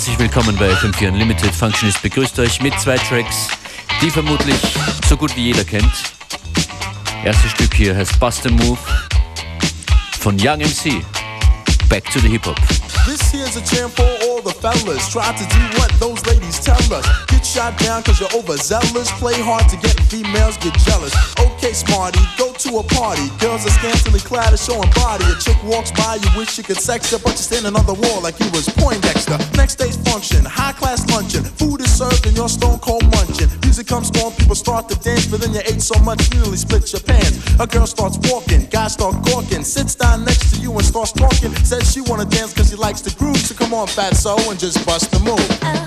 Herzlich willkommen bei FM4 Unlimited. Functionist begrüßt euch mit 2 Tracks, die vermutlich so gut wie jeder kennt. Erstes Stück hier heißt Bust a Move von Young MC. Back to the Hip-Hop. This here's a jam for all the fellas. Try to do what those ladies tell us. Get shot down cause you're overzealous. Play hard to get females get jealous. Okay, smarty, go to a party. Girls are scantily clad and showing body. A chick walks by, you wish you could sex her, but you're standing on the wall like you was Poindexter. Next day's function, high class luncheon. Food is served and you're stone cold munching. Music comes on, people start to dance, but then you ate so much you nearly split your pants. A girl starts walking, guys start gawking. Sits down next to you and starts talking. Says she wanna dance cause she likes the groove. So come on, fatso, and just bust the move.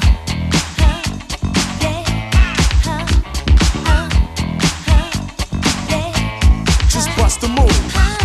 Just bust the move.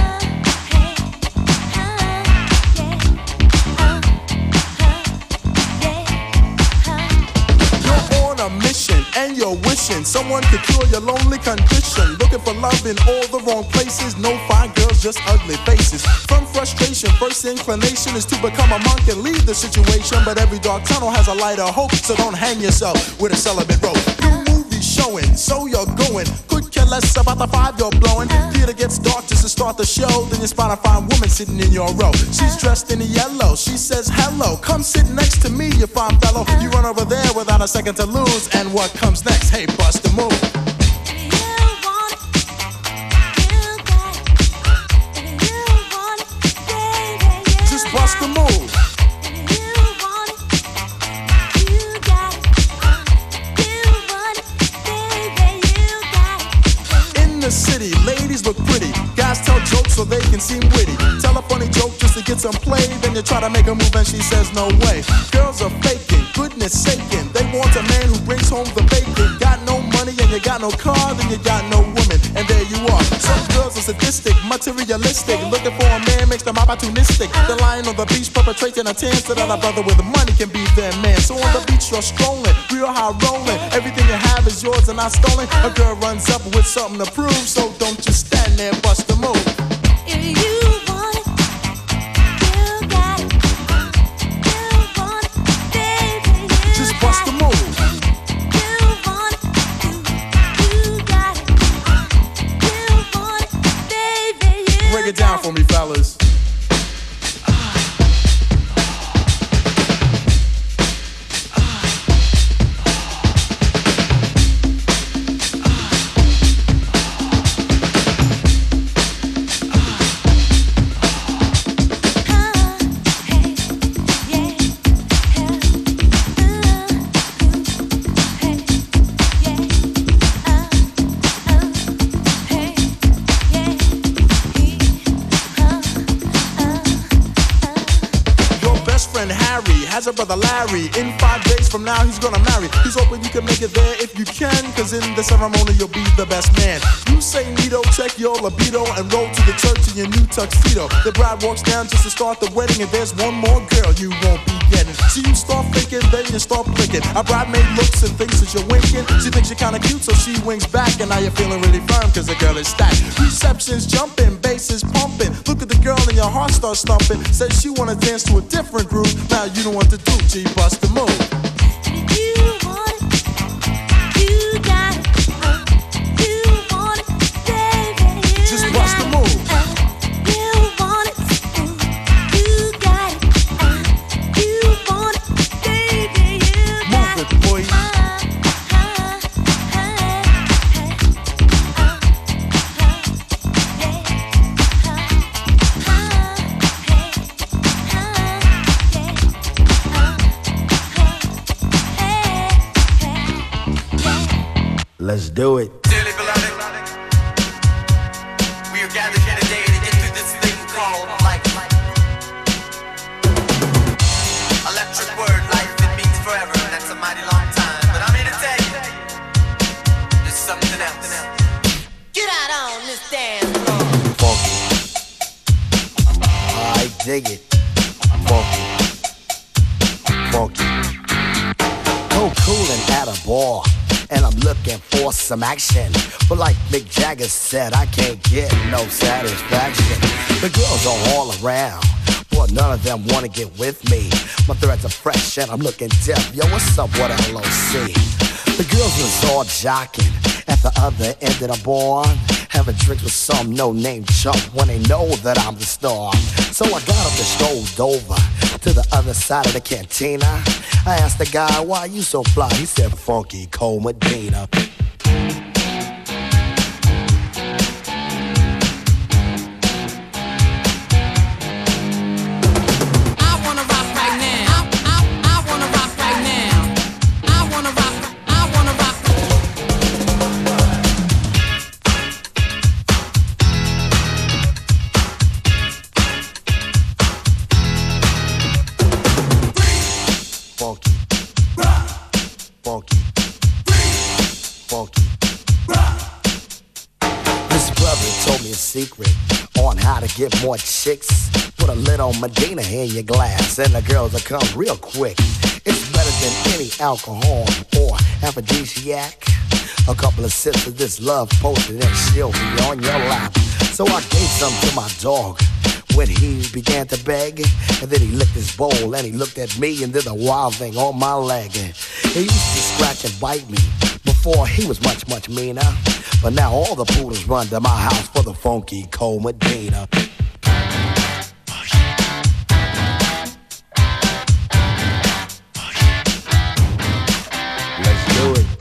You're on a mission and you're wishing someone could cure your lonely condition. Looking for love in all the wrong places. No fine girls, just ugly faces. From frustration, first inclination is to become a monk and leave the situation. But every dark tunnel has a light of hope, so don't hang yourself with a celibate rope. New movie showing, so you're going. Could care less about the 5 you're blowing. Theater gets dark just to start the show. Then you spot a fine woman sitting in your row. She's dressed in yellow, she says hello. Come sit next to me, you fine fellow. You run over there without a second to lose. And what comes next? Hey, bust the move. Bust the move. In the city, ladies look pretty. Guys tell jokes so they can seem witty. Tell a funny joke just to get some play. Then you try to make a move and she says no way. Girls are faking, goodness saking. They want a man who brings home the bacon. Got no money and you got no car, then you got no woman. And there you are. Some girls are sadistic, materialistic. Looking for a man makes them opportunistic. They're lying on the beach perpetrating a tan so that a brother with money can be their man. So on the beach you're strolling, real high rolling. Everything you have is yours and not stolen. A girl runs up with something to prove, so don't just stand there, bust the move. If you want it, you got it. You want it, baby, you just bust the move. You want it, you got it. You want it, baby, you Break it down for me, fellas. Has a brother Larry. In 5 days from now he's gonna marry. He's hoping you can make it there if you can, cause in the ceremony you'll be the best man. You say neato, check your libido, and roll to the church in your new tuxedo. The bride walks down just to start the wedding, and there's one more girl you won't be getting. So you start thinking, then you start blinking. A bridemaid looks and thinks that you're winking. She thinks you're kinda cute, so she winks back, and now you're feeling really firm cause the girl is stacked. Reception's jumping, bass is pumping. Look at the girl and your heart starts thumping. Says she wanna dance to a different groove. Now you don't want to do, G, bust the move. You want it, you got it. You want it, baby, you just bust the move. You want it, you got it. You want it, baby, you got it. Move it, boy. Let's do it. Dearly beloved, we are gathered here today to get through this thing called life. Electric word, life, it means forever, and that's a mighty long time. But I'm here to tell you, there's something else. Get out on this damn floor. Funky. I dig it. Funky. Funky. No coolin' at a bar. And I'm looking for some action. But like Mick Jagger said, I can't get no satisfaction. The girls are all around, but but none of them wanna get with me. My threads are fresh and I'm looking deaf. Yo, what's up, what LOC? The girls was all jocking at the other end of the bar, having drinks with some no-name chump when they know that I'm the star. So I got up and strolled over to the other side of the cantina. I asked the guy, why you so fly? He said, Funky Cole Medina. Secret on how to get more chicks. Put a little Medina in your glass and the girls will come real quick. It's better than any alcohol or aphrodisiac. A couple of sips of this love potion and she'll be on your lap. So I gave some to my dog when he began to beg, and then he licked his bowl and he looked at me and did a wild thing on my leg. He used to scratch and bite me before he was much, much meaner. But now all the poodles run to my house for the Funky Cole Medina. Let's do it.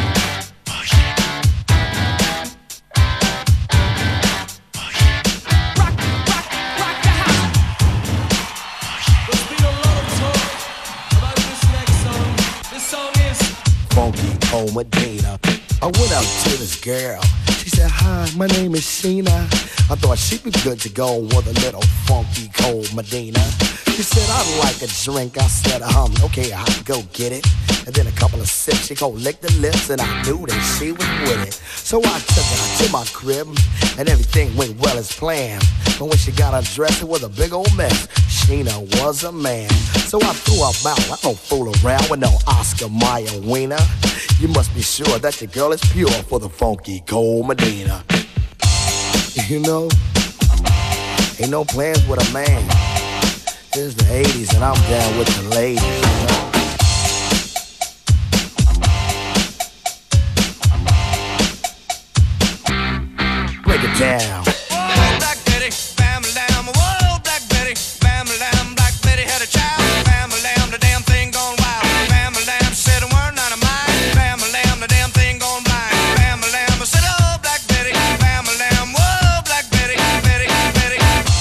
Rock the house. There's been a lot of talk about this next song. This song is Funky Cole Medina. I went up to this girl. She said, hi, my name is Sheena. I thought she'd be good to go with a little Funky Cole Medina. She said, I'd like a drink. I said, okay, I'll go get it. And then a couple of sips, she go lick the lips, and I knew that she was with it. So I took her to my crib, and everything went well as planned. But when she got undressed, it was a big old mess. Sheena was a man. So I threw her out. I don't fool around with no Oscar Mayer wiener. You must be sure that your girl is pure for the Funky Cole Medina. You know, ain't no plans with a man. It's the 80s and I'm down with the ladies, you know? Break it down. Whoa, Black Betty, bam lamb. Whoa, Black Betty, bam lamb. Black Betty had a child, bam lamb. The damn thing gone wild. Bam lamb said a word not of mine. Bam lamb, the damn thing gone blind. Bam lamb, I said, oh, Black Betty, bam lamb. Whoa, Black Betty, Betty, Betty.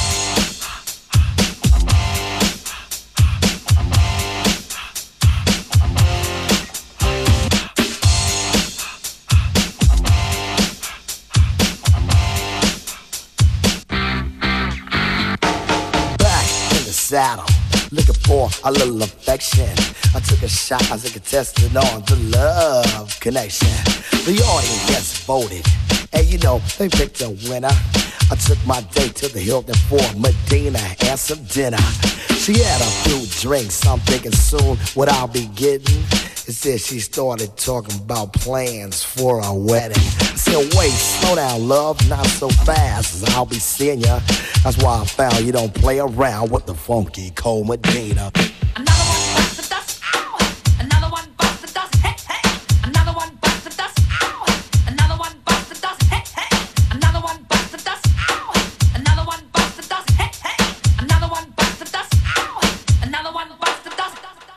Saddle, looking for a little affection. I took a shot as a contestant on the love connection. The audience voted, and you know, they picked a winner. I took my date to the Hilton for Medina and some dinner. She had a few drinks, I'm thinking soon what I'll be getting. It said she started talking about plans for a wedding. I said, wait, slow down, love, not so fast, I'll be seeing ya. That's why I found you don't play around with the Funky Cole Medina. Another one bites the dust, ow! Another one bites the dust, hey, hey! Another one bites the dust, ow! Another one bites the dust, hey, hey! Another one bites the dust, ow! Another one bites the dust, hey, hey! Another one bites the dust, ow! Another one bites the dust.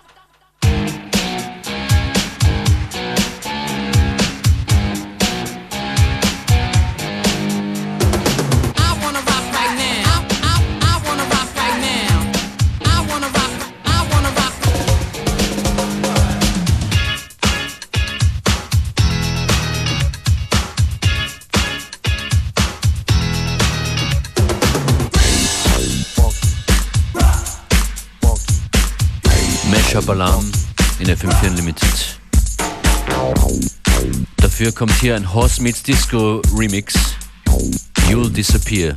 I wanna rock right now. I wanna rock right now. I wanna rock. Mashup Alarm in FM4 Unlimited. Dafür kommt hier ein Horse Meets Disco Remix. You'll Disappear.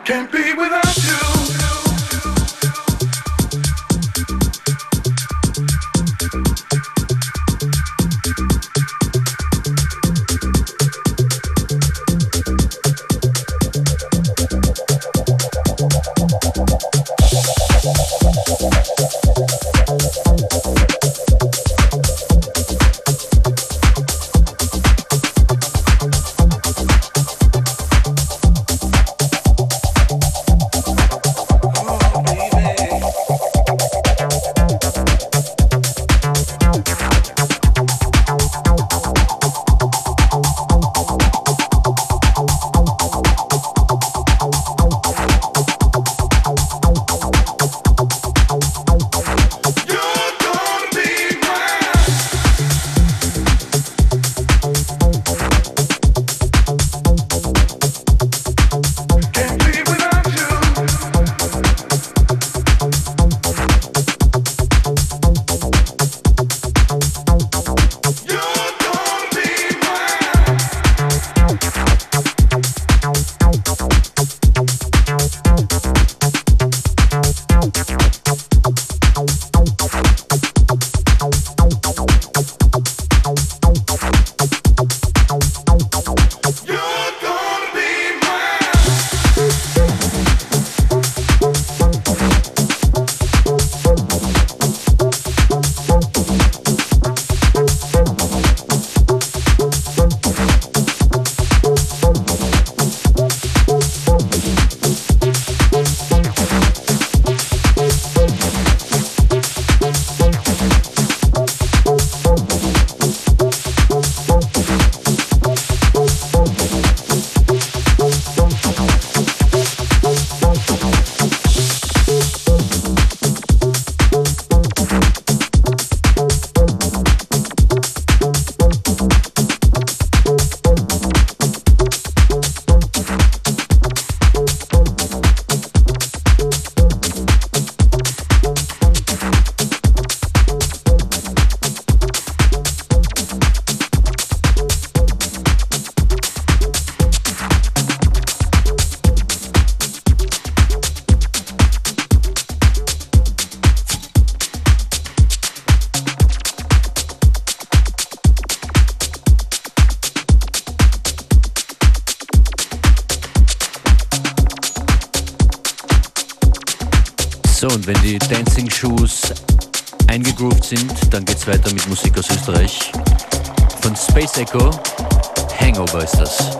Can't be without you. So, und wenn die Dancing Shoes eingegroovt sind, dann geht's weiter mit Musik aus Österreich. Von Space Echo, Hangover ist das.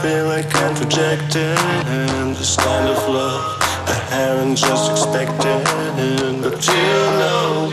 feel I can't reject it. This kind of love I haven't just expected, but you know.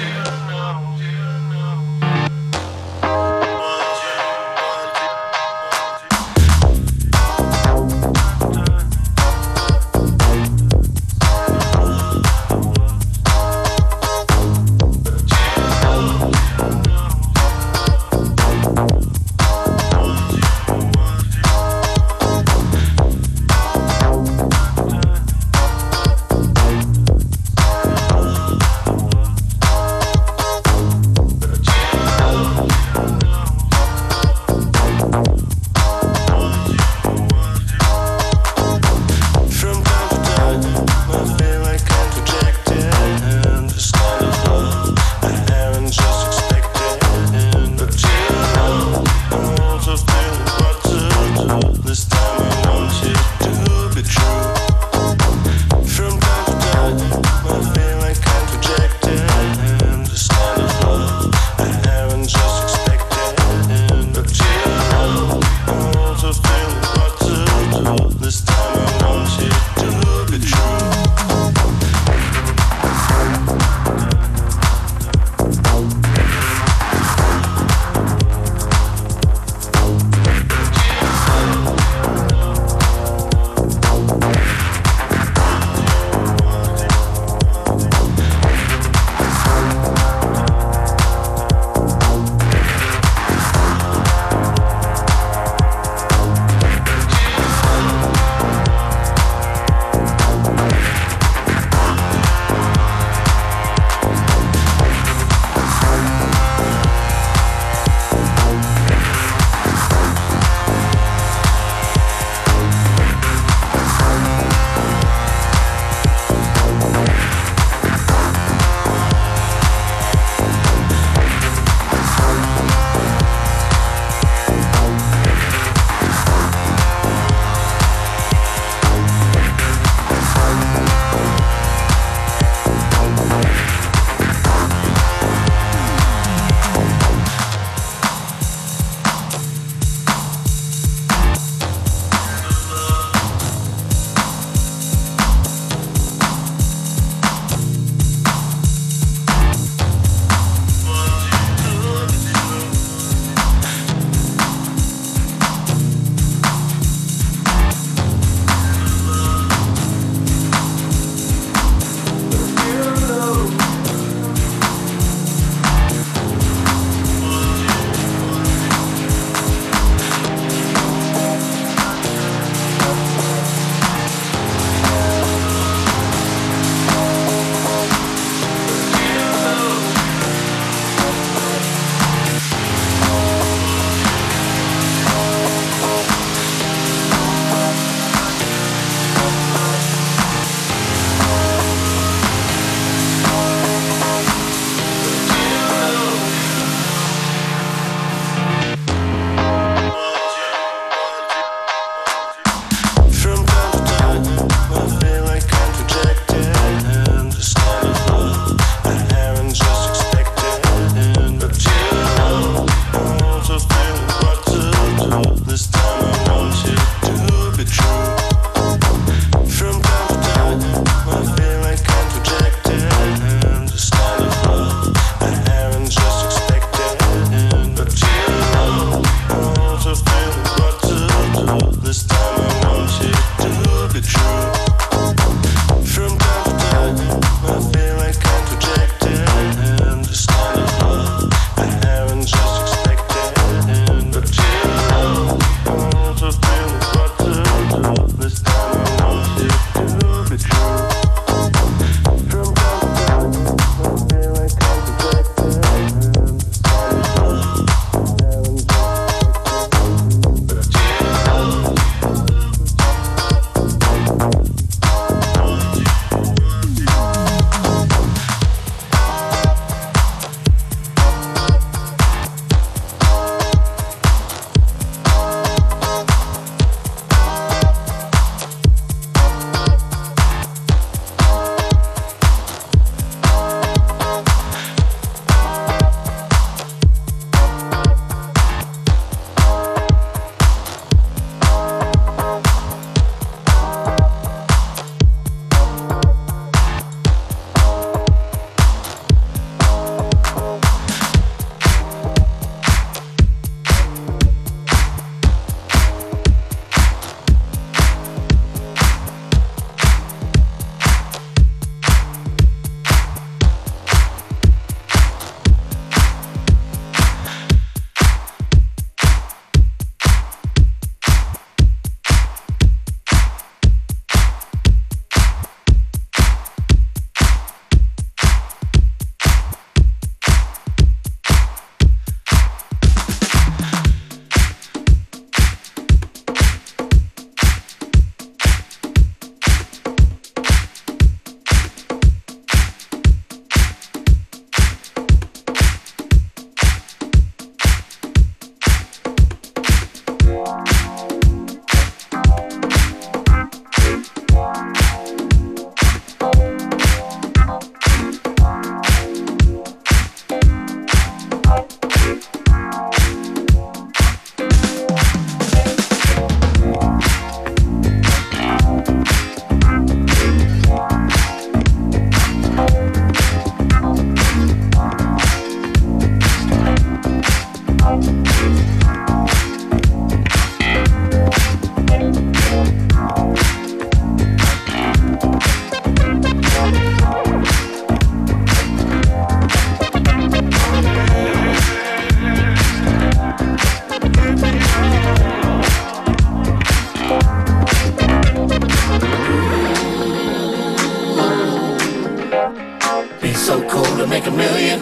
Be so cool to make a million.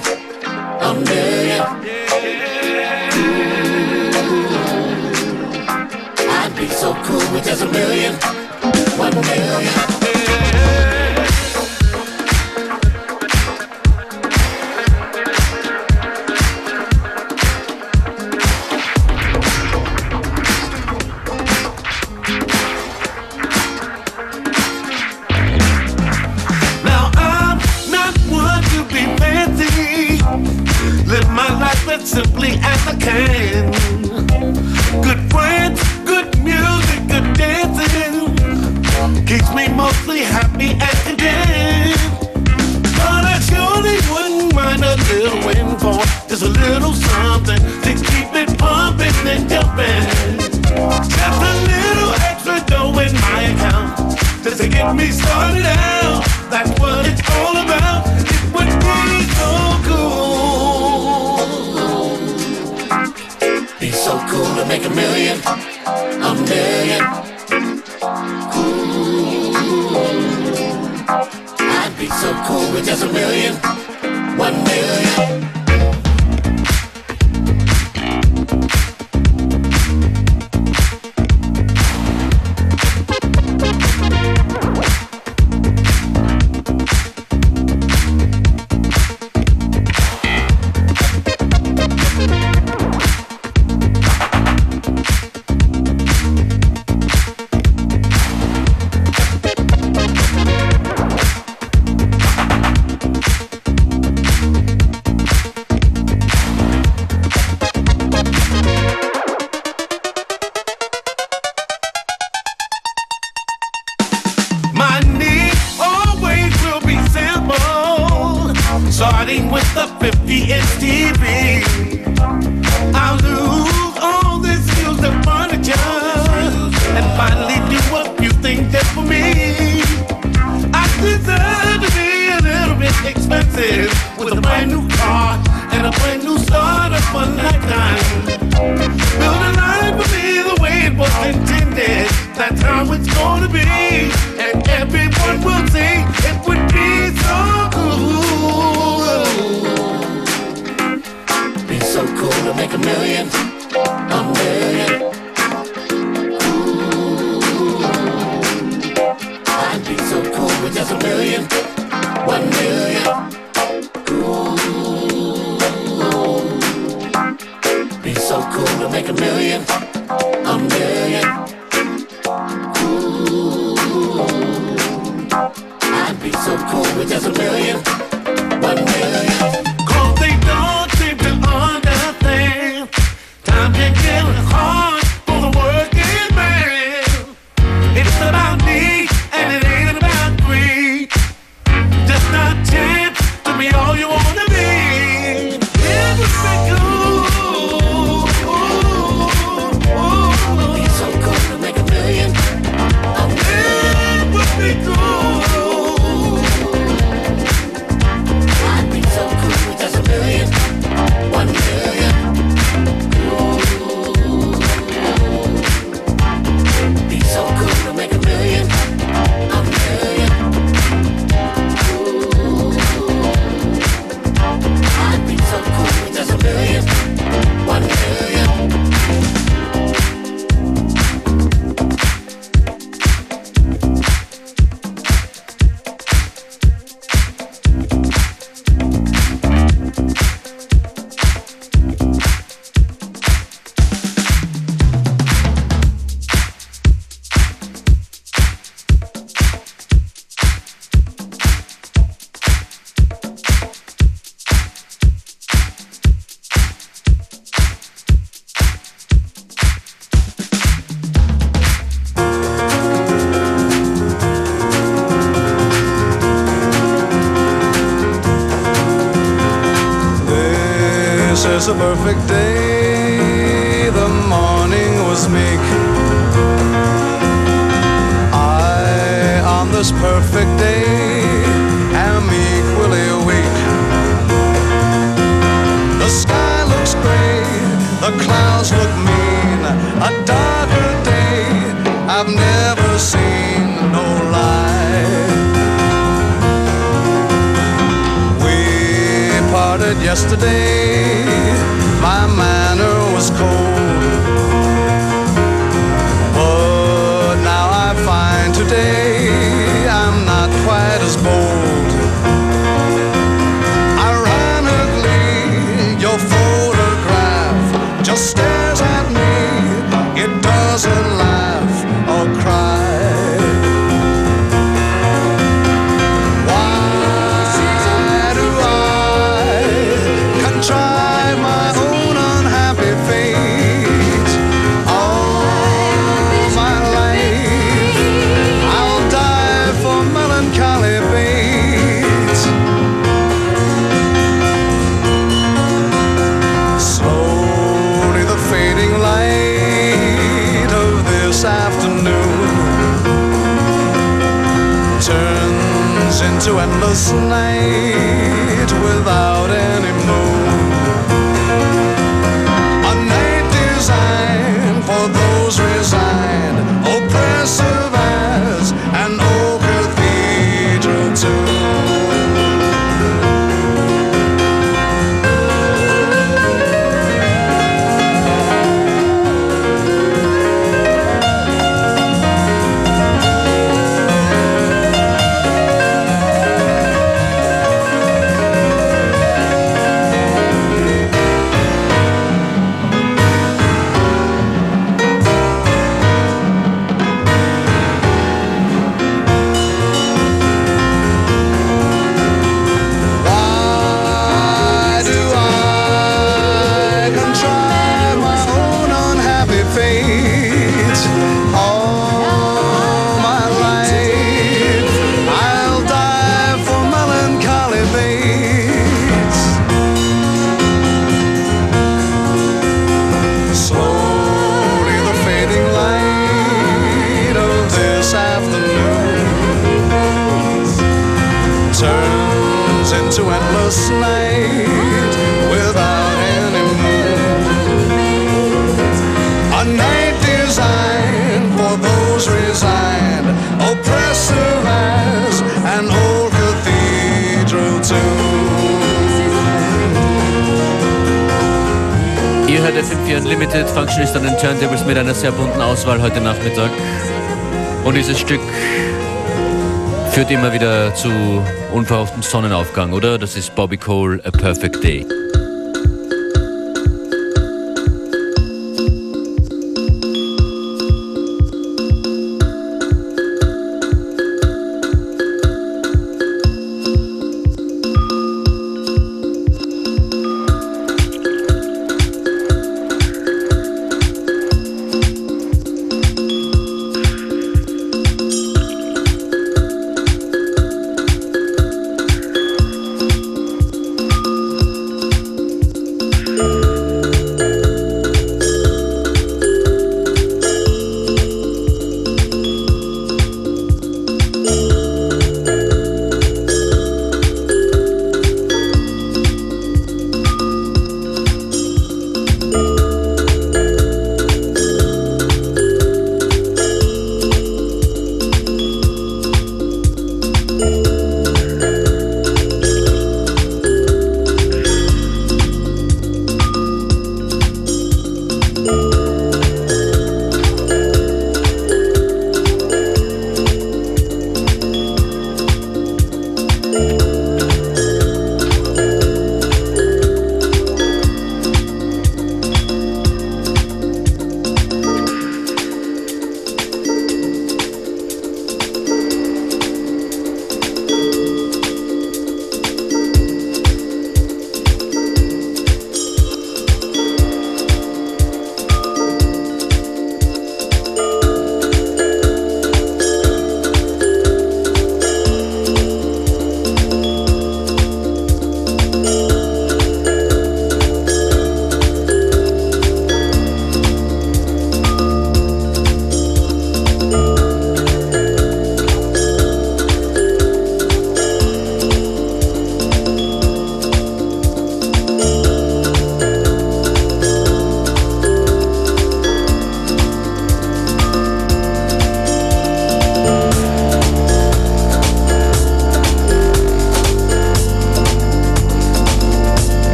I'd be so cool with just a million. 1 million. Simply as I can. Good friends, good music, good dancing keeps me mostly happy and content. But I surely wouldn't mind a little windfall, just a little something to keep it pumping and jumping. Just a little extra dough in my account, just to get me started out. That's what it's all about. It would be so cool. So cool to make a million. I'd be so cool with just a million. 1 million. It's a perfect day, the morning was meek. I, on this perfect day, am equally weak. The sky looks gray, the clouds look mean. A darker day I've never seen, no lie. We Yesterday, my manner was cold, but now I find today I'm not quite as bold. Ironically, your photograph just stares at me. It doesn't laugh or cry. Into endless night without any moon. A night designed for those resigned, oppressive as an old cathedral tune. Into endless night without any moon. A night designed for those resigned, oppressive as an old cathedral tune. Ihr hört FM4 Unlimited, Functionist an den Turntables mit einer sehr bunten Auswahl heute Nachmittag. Und dieses Stück führt immer wieder zu unverhofftem Sonnenaufgang, oder? Das ist Bobby Cole, A Perfect Day.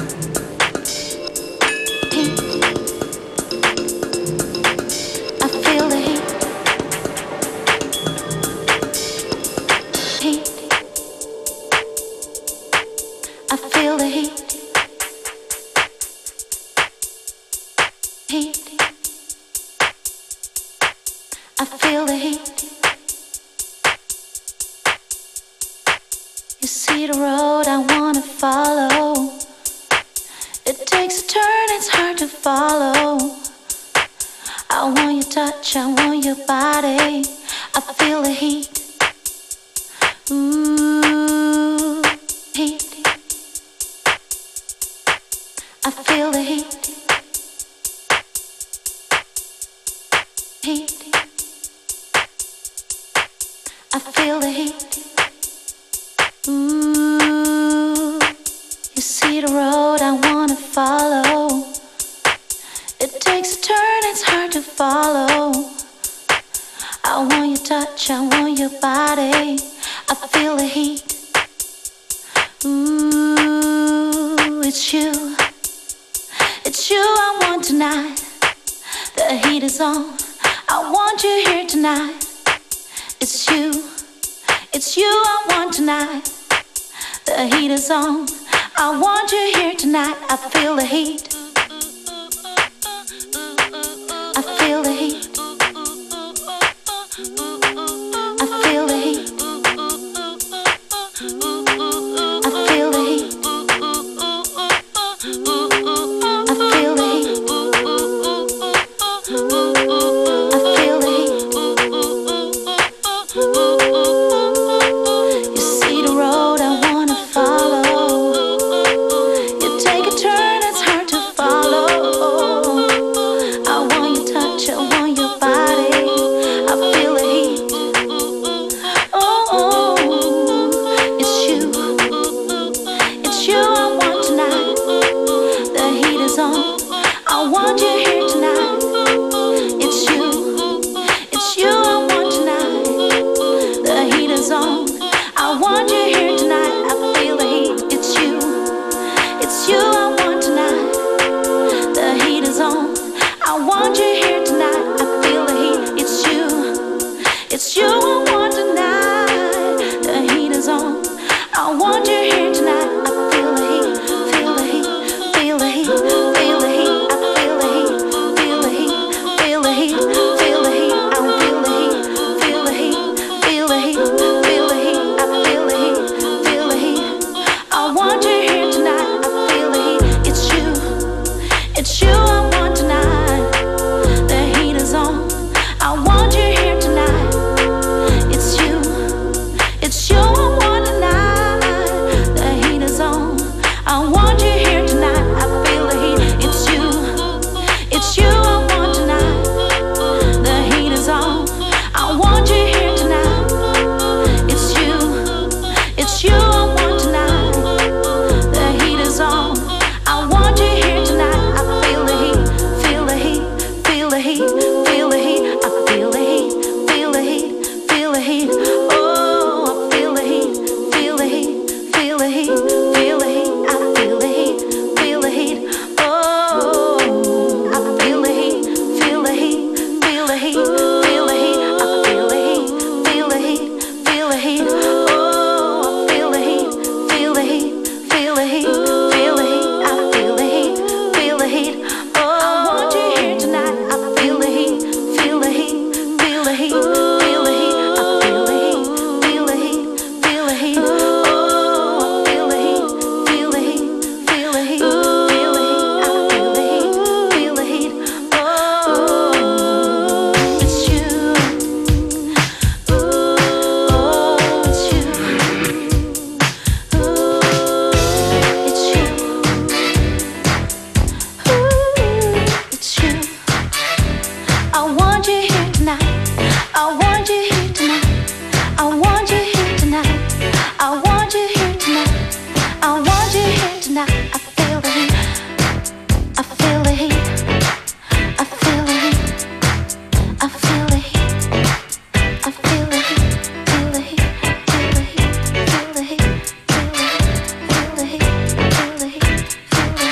feel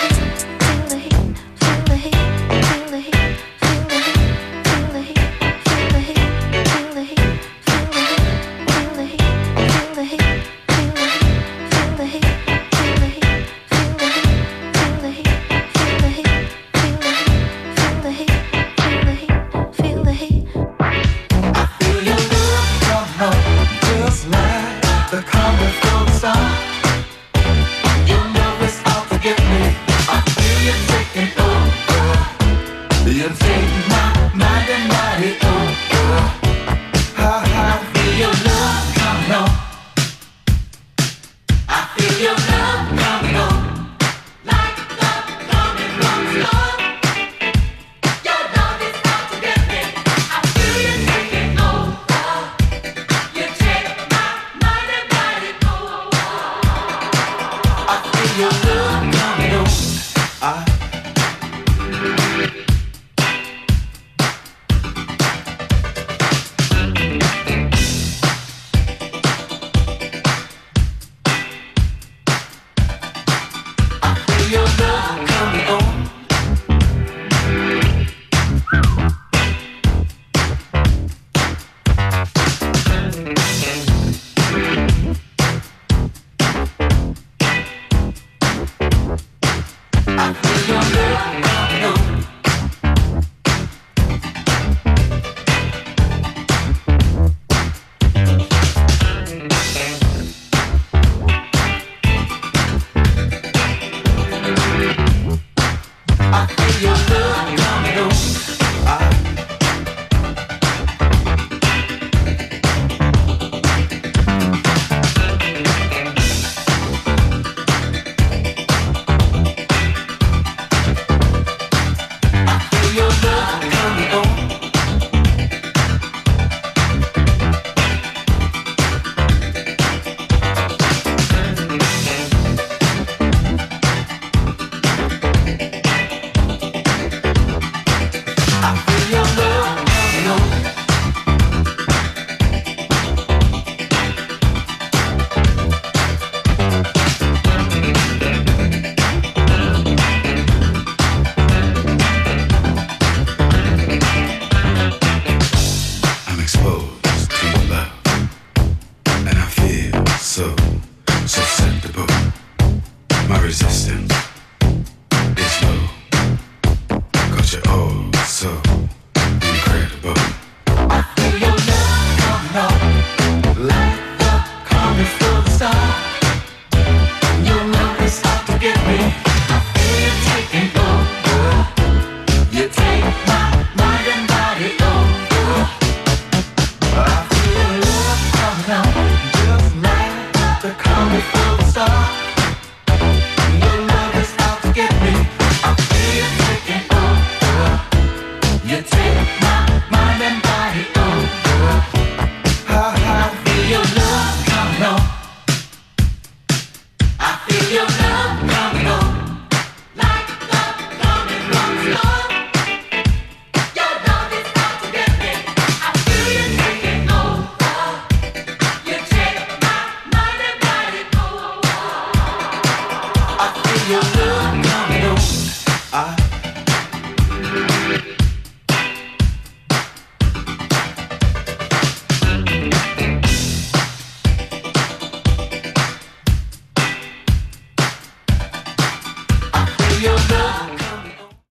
We're gonna